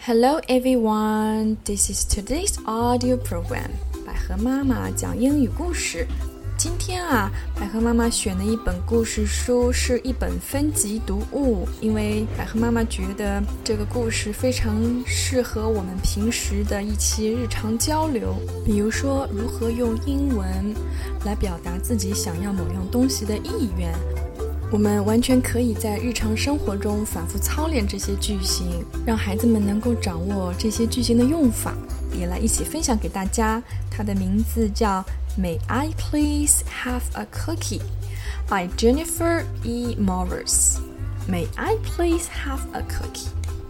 Hello everyone, this is today's audio program. 百合妈妈讲英语故事。今天百合妈妈选的一本故事书是一本分级读物，因为百合妈妈觉得这个故事非常适合我们平时的一期日常交流，比如说如何用英文来表达自己想要某样东西的意愿。我们完全可以在日常生活中反复操练这些句型，让孩子们能够掌握这些句型的用法，也来一起分享给大家。它的名字叫 May I Please Have a Cookie by Jennifer E. Morris. May I please have a cookie?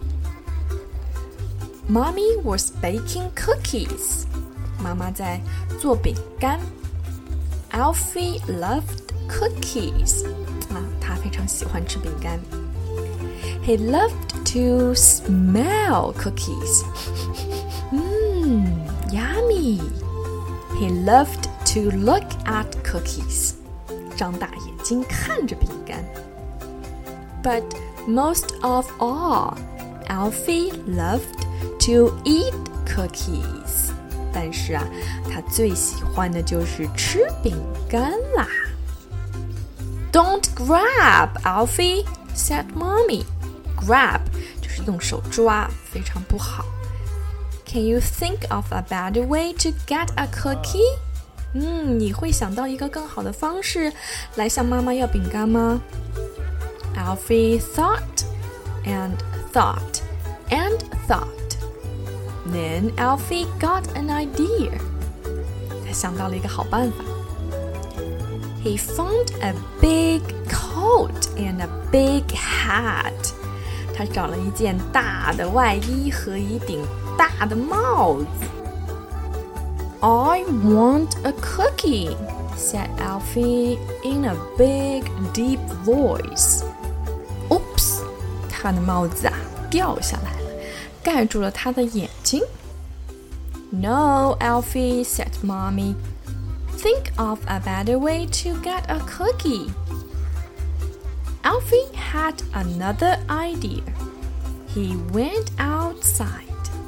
Mommy was baking cookies. 妈妈在做饼干。Alfie loved cookies.他非常喜欢吃饼干。He loved to smell cookies. Yummy. He loved to look at cookies. 张大眼睛看着饼干。But most of all, Alfie loved to eat cookies. 但是他最喜欢的就是吃饼干啦。Don't grab, Alfie, said Mommy. Grab 就是用手抓，非常不好。Can you think of a better way to get a cookie? 你会想到一个更好的方式来向妈妈要饼干吗？ Alfie thought and thought and thought. Then Alfie got an idea. 他想到了一个好办法。He found a big coat and a big hat. 他找了一件大的外衣和一顶大的帽子。I want a cookie, said Alfie in a big, deep voice. Oops, 他的帽子掉下来了，盖住了他的眼睛。No, Alfie, said Mommy.Think of a better way to get a cookie. Alfie had another idea. He went outside.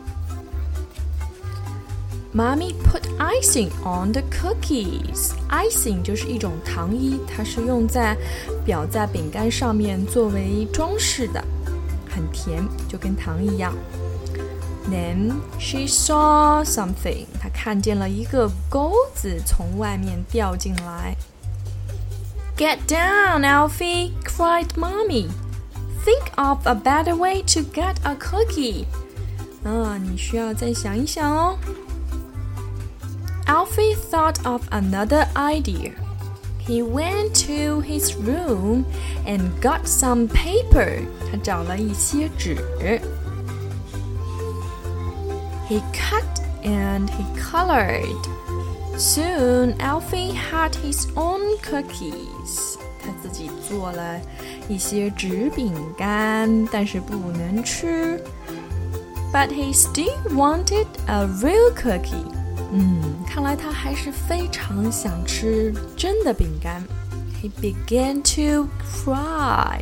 Mommy put icing on the cookies. Icing 就是一种糖衣，它是用在表在饼干上面作为装饰的，很甜，就跟糖一样。Then she saw something. 她看见了一个钩子从外面掉进来。Get down, Alfie, cried Mommy. Think of a better way to get a cookie. 你需要再想一想哦。Alfie thought of another idea. He went to his room and got some paper. 他找了一些纸。He cut and he colored. Soon, Alfie had his own cookies. 他自己做了一些纸饼干，但是不能吃。But he still wanted a real cookie. 看来他还是非常想吃真的饼干。He began to cry.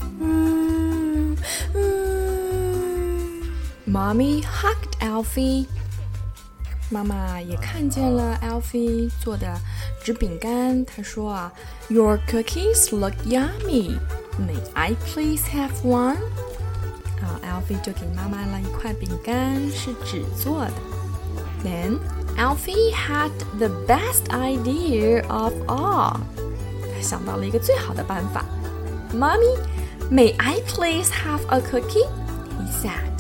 Mommy hugged Alfie. 妈妈也看见了 Alfie 做的纸饼干，她说Your cookies look yummy. May I please have one? Alfie 就给妈妈了一块饼干，是纸做的。Then Alfie had the best idea of all. 他想到了一个最好的办法。Mommy, may I please have a cookie? He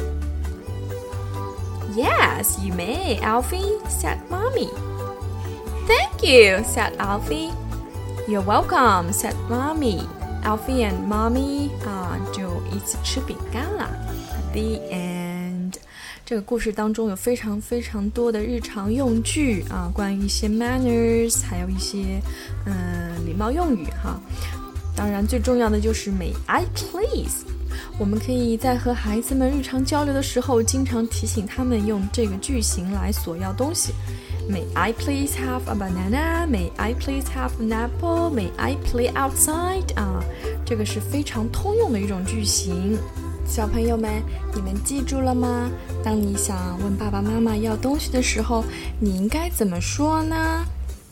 said.Yes, you may, Alfie, said Mommy. Thank you, said Alfie. You're welcome, said Mommy. Alfie and Mommy 就一起吃饼干了。The end. 这个故事当中有非常非常多的日常用句关于一些 manners， 还有一些礼貌用语当然最重要的就是 May I please。我们可以在和孩子们日常交流的时候，经常提醒他们用这个句型来索要东西。May I please have a banana? May I please have an apple? May I play outside? 这个是非常通用的一种句型。 小朋友们，你们记住了吗？当你想问爸爸妈妈要东西的时候，你应该怎么说呢？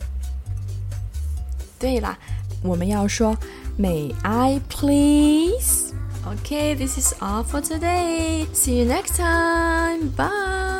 对啦，我们要说 May I please? Okay, this is all for today. See you next time. Bye.